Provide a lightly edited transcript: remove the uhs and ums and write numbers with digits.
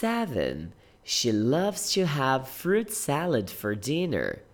7. She loves to have fruit salad for dinner.